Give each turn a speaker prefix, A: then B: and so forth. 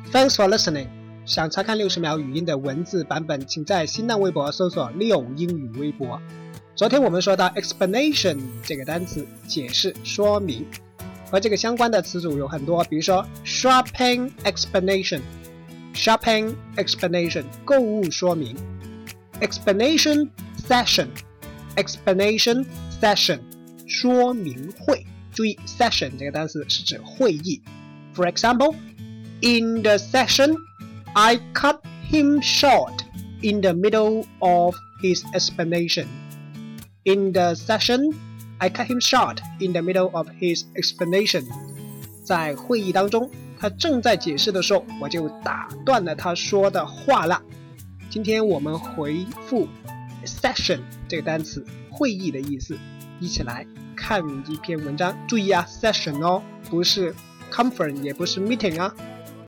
A: Thanks for listening. 想查看60秒语音的文字版本，请在新浪微博搜索6英语微博。昨天我们说到 explanation 这个单词，解释说明，和这个相关的词组有很多，比如说 shopping explanation 购物说明， explanation session 说明会。注意 session 这个单词是指会议。 For example, in the session, I cut him short in the middle of his explanation.In the session, I cut him short in the middle of his explanation. 在会议当中，他正在解释的时候，我就打断了他说的话了。今天我们回复 session 这个单词，会议的意思，一起来看一篇文章。注意啊 ，session 哦，不是 conference， 也不是 meeting 啊。